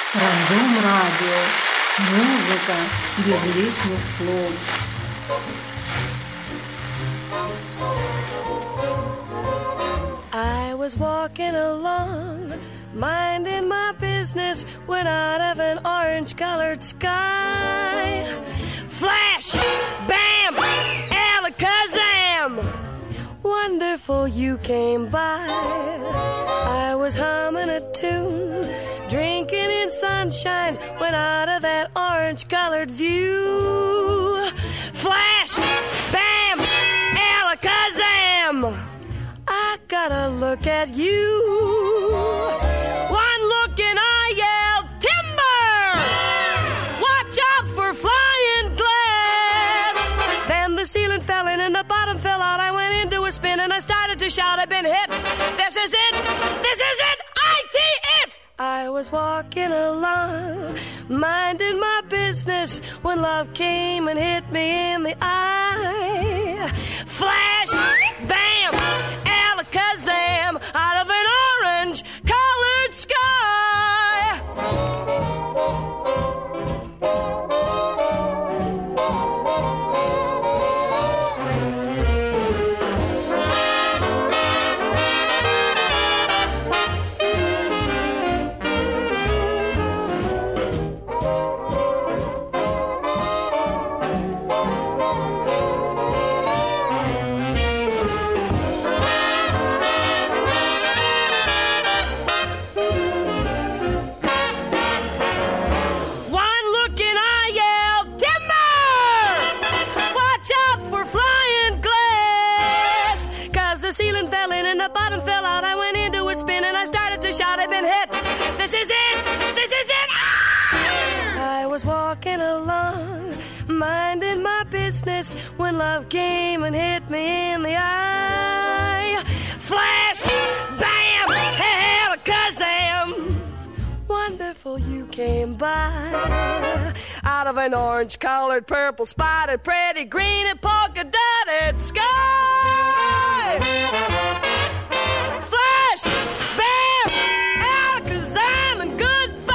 Рандом Радио. Музыка без лишних слов. I was walking along, minding my business, when out of an orange-colored sky, flash, bam, alakazam, wonderful you came by. I was humming a tune, drinking in sunshine, when out of that orange-colored view, flash, bam, alakazam, I gotta look at you. One look and I yelled, timber! Watch out for flying glass! Then the ceiling fell in and the bottom fell out. I went into a spin and I started to shout, I've been hit. This is it! This is it! it! I was walking along, minding my business, when love came and hit me in the eye. Flash, bam, alakazam, out of an orange-colored sky. Shout, I've been hit. This is it. This is it. Ah! I was walking along, minding my business, when love came and hit me in the eye. Flash, bam, alakazam. Wonderful you came by. Out of an orange-colored, purple, spotted, pretty green and polka-dotted sky. Flash, bam, alakazam, and goodbye.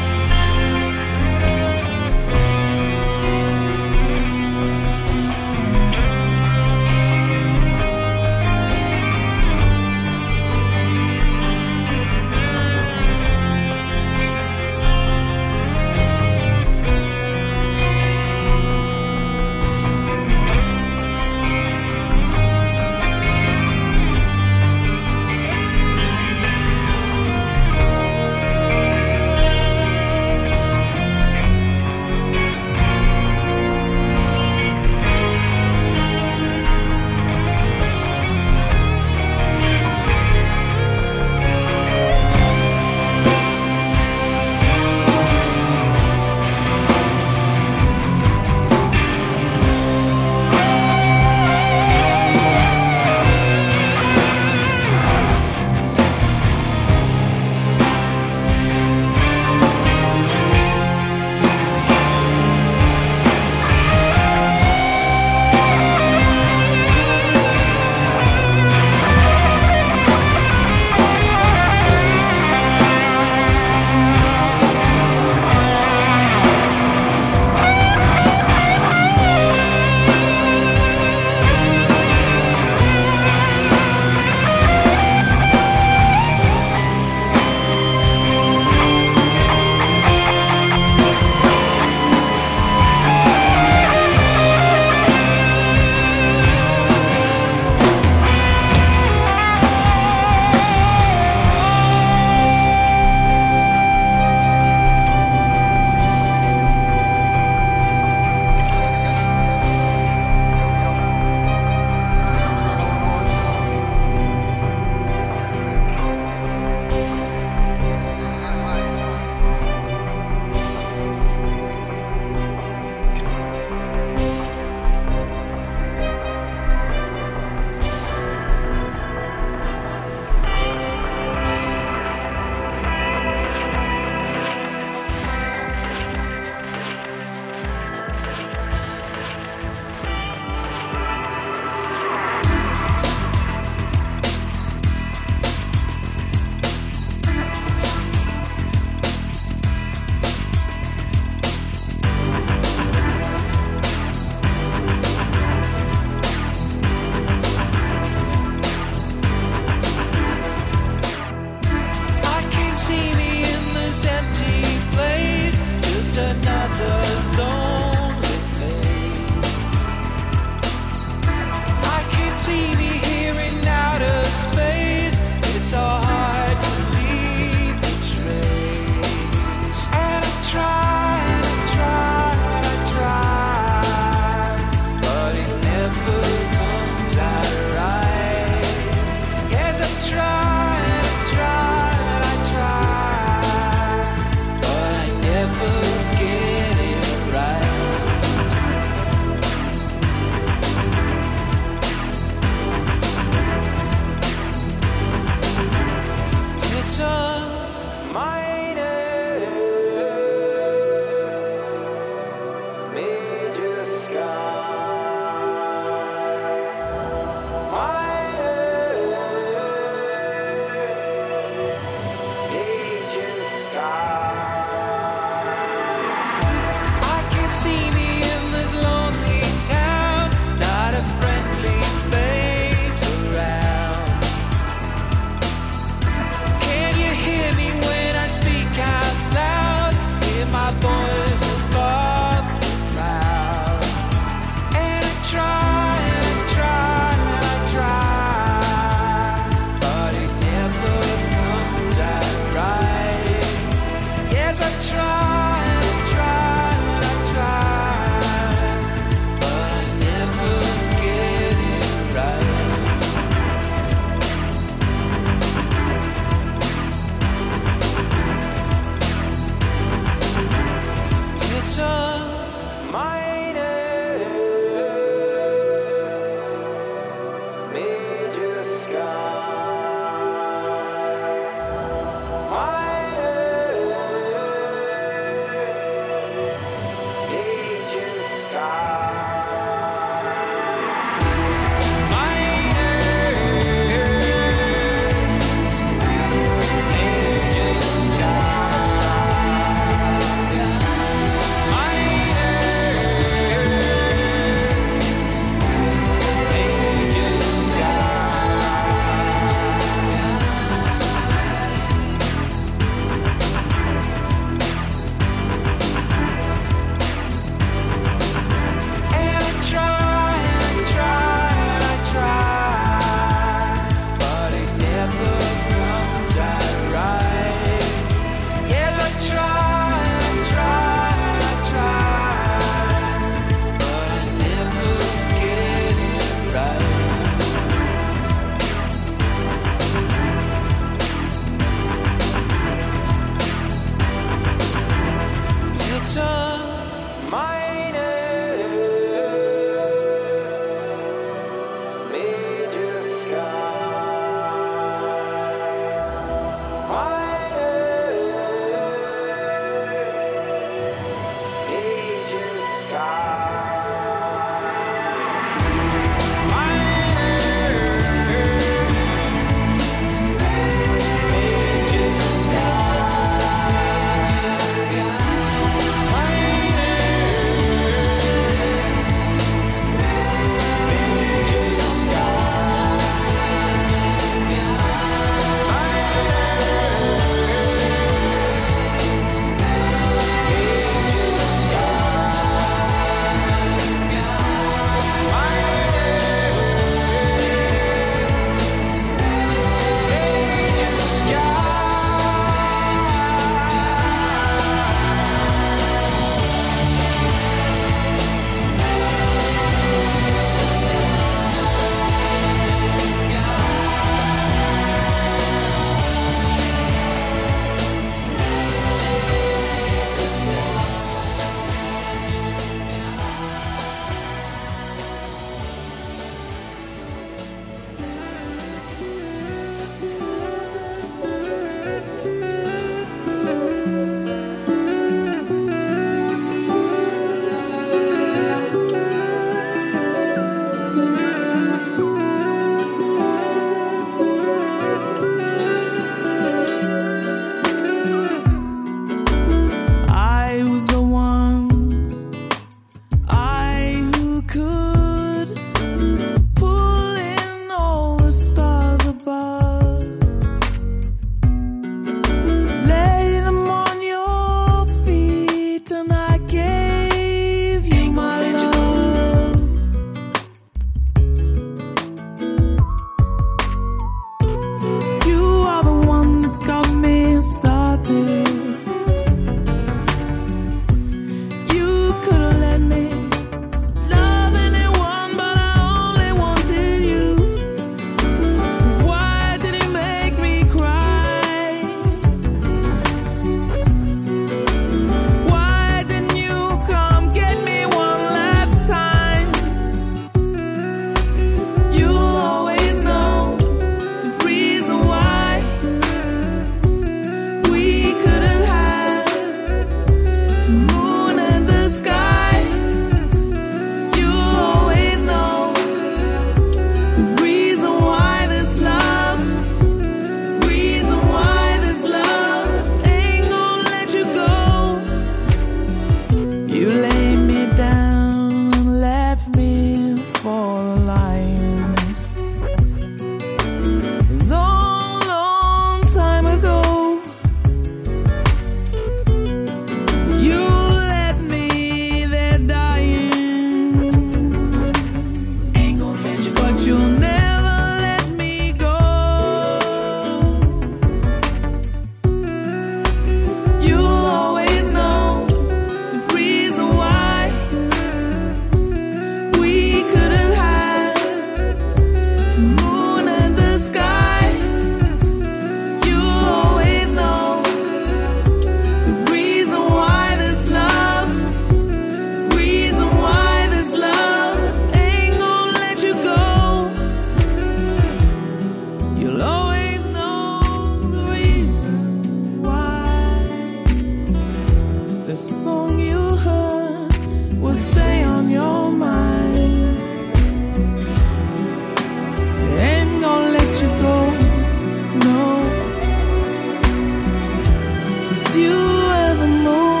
'cause you are the moon.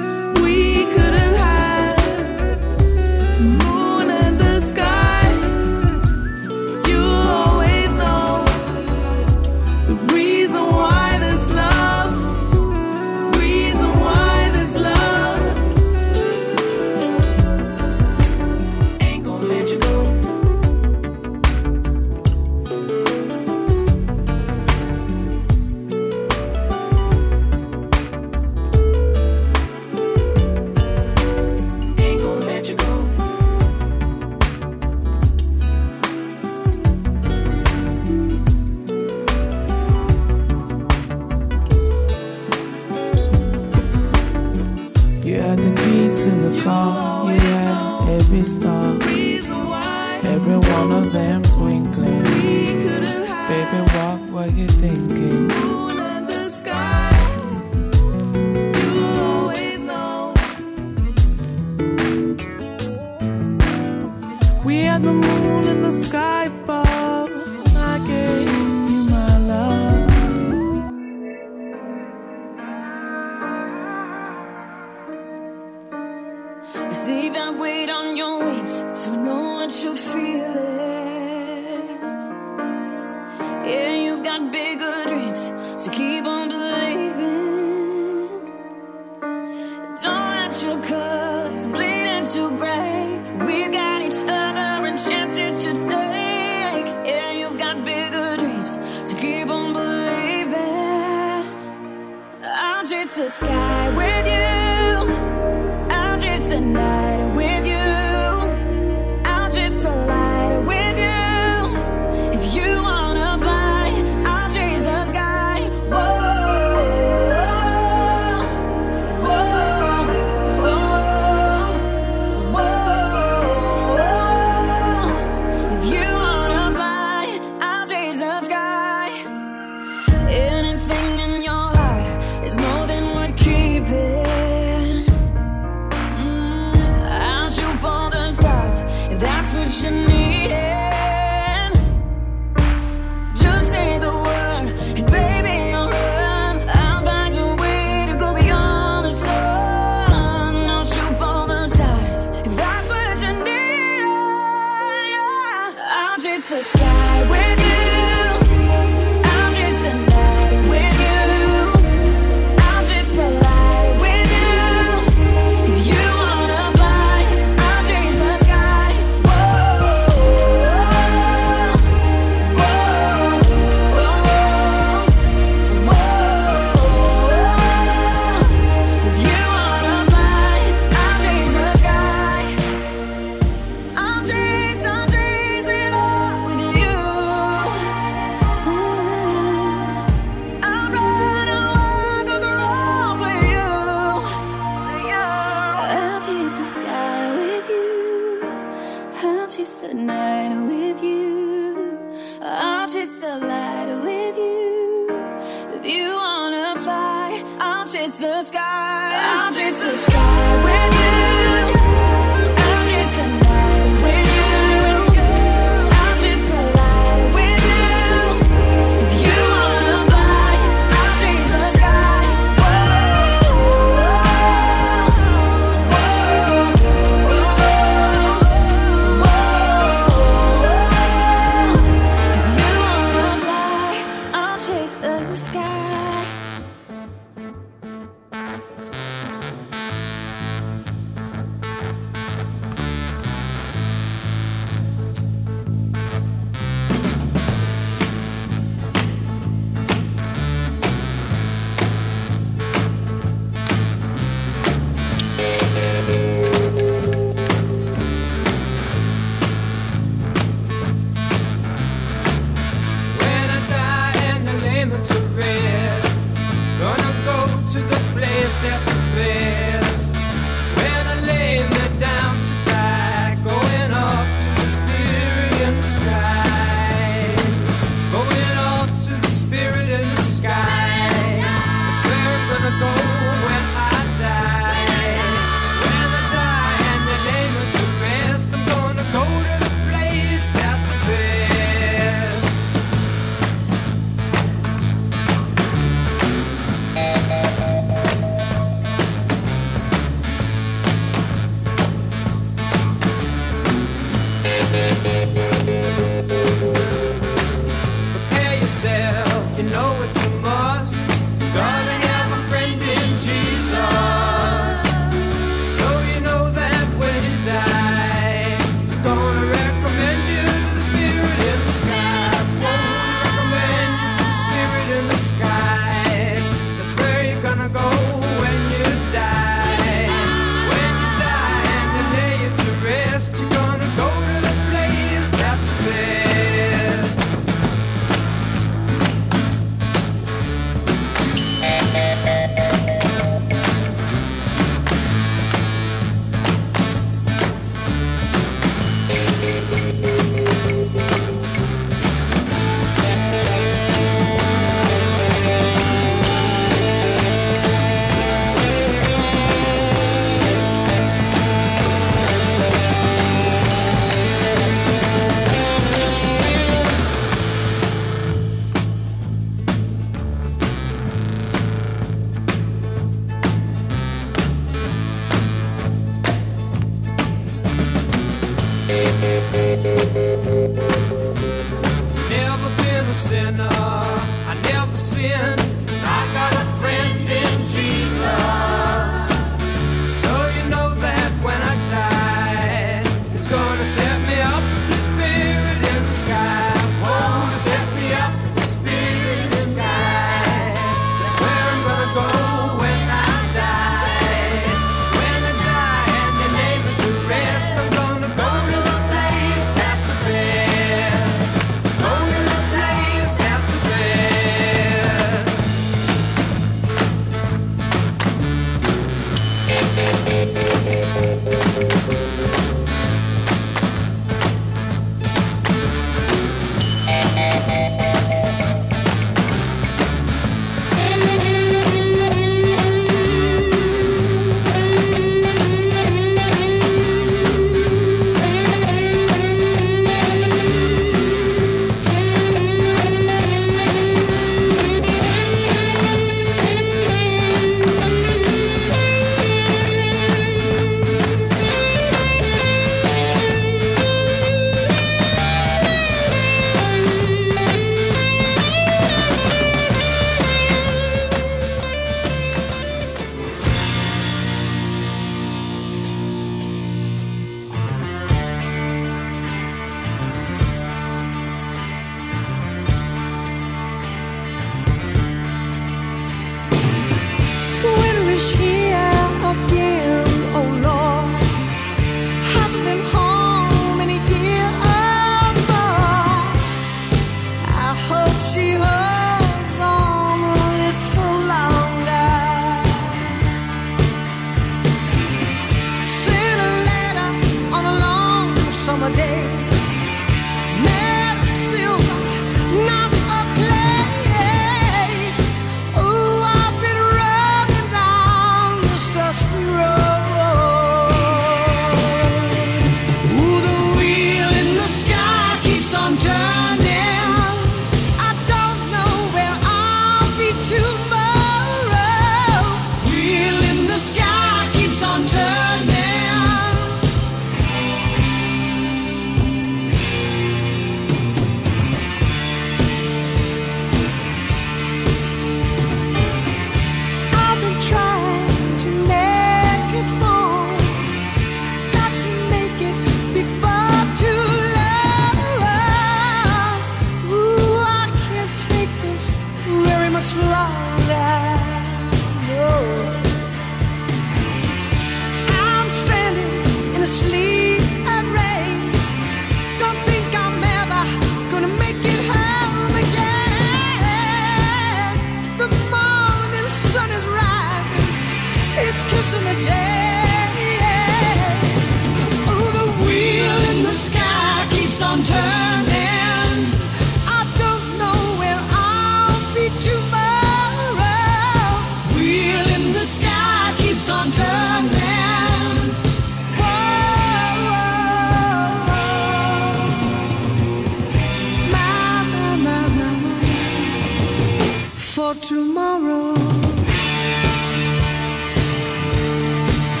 Tomorrow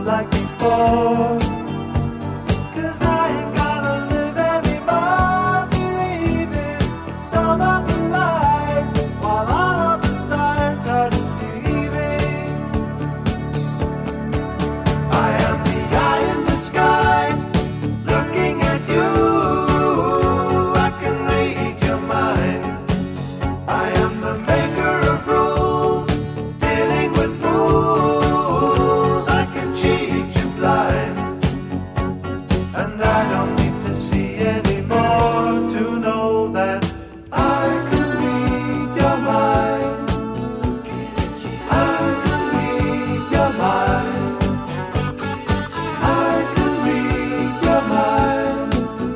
like before. 'Cause I ain't gonna live anymore believing some of the lies, while all of the signs are deceiving. I am the eye in the sky, looking at you. I can read your mind. I am the maker of rules, dealing with fools. I can cheat you blind, and I don't need to see anymore to know that I can read your mind. I can read your mind. I can read your mind.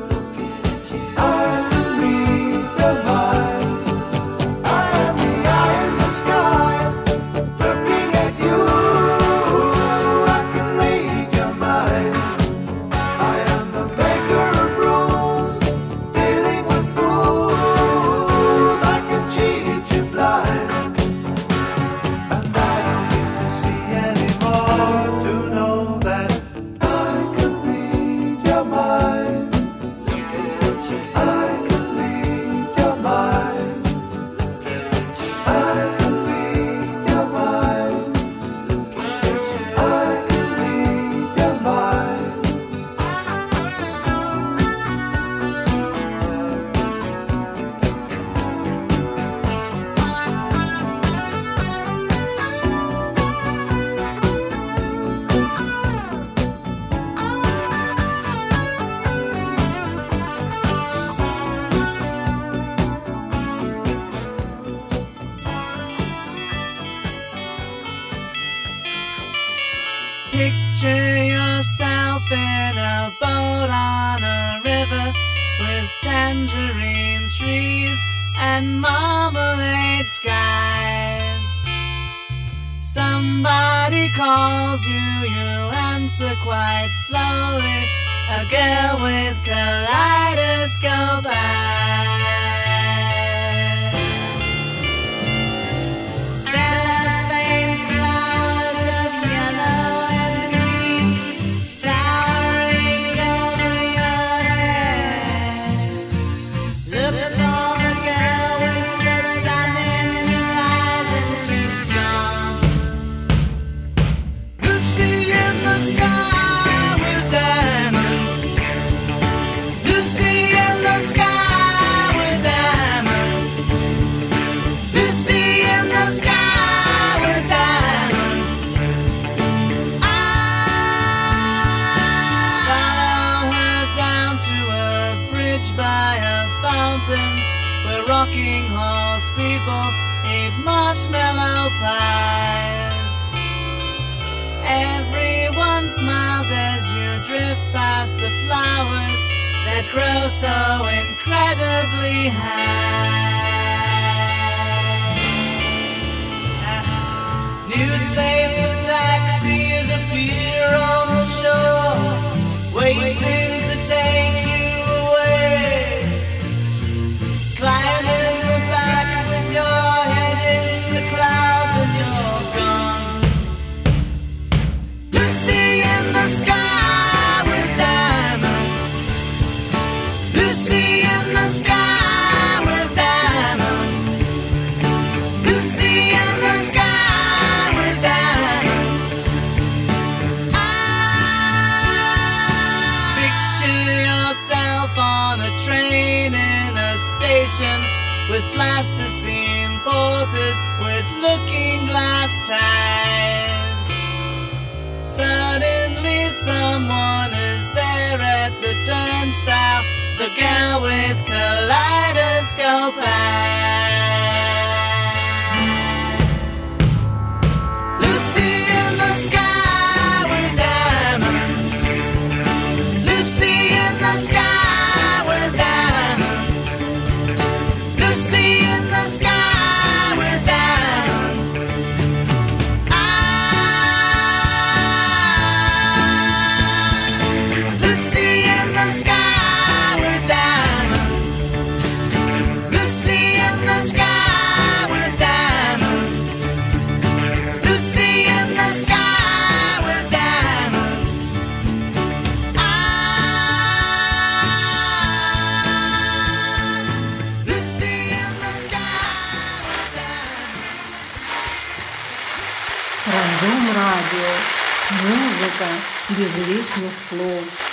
I can read your mind. I am the eye in the sky, looking at you. I can read your mind. I am the maker of rules, dealing with fools. I can cheat you blind, and I don't need to see anymore to know that I can read your mind. I can read your mind. I can read your mind. I can read your mind. Picture yourself in a boat on a river with tangerine trees and marmalade skies. Somebody calls you, you answer quite slowly. A girl with kaleidoscope eyes. Cellophane flowers of yellow and green towering over your head. Look for the girl with the sun in her eyes, and she's gone. Lucy in the sky with diamonds. Lucy in the sky with diamonds. Lucy in the sky with diamonds. Follow her down to a bridge by a fountain where rocking horse people eat marshmallow pies. Everyone smiles as you drift past the flowers that grow so incredibly high. Newspaper taxis appear on the shore, waiting to take you away. Climb in the back with your head in the clouds and you're gone. Lucy in the sky with diamonds. Lucy in the sky with diamonds. Lucy in the sky with diamonds. Picture yourself on a train in a station with plasticine porters with looking glass ties. Suddenly someone is there at the turnstile, the girl with kaleidoscope eyes. Lucy in the sky with diamonds. Lucy in the sky with diamonds. Lucy in the sky with diamonds. Lucy in the sky with diamonds. Lucy Дом радио. Музыка без лишних слов.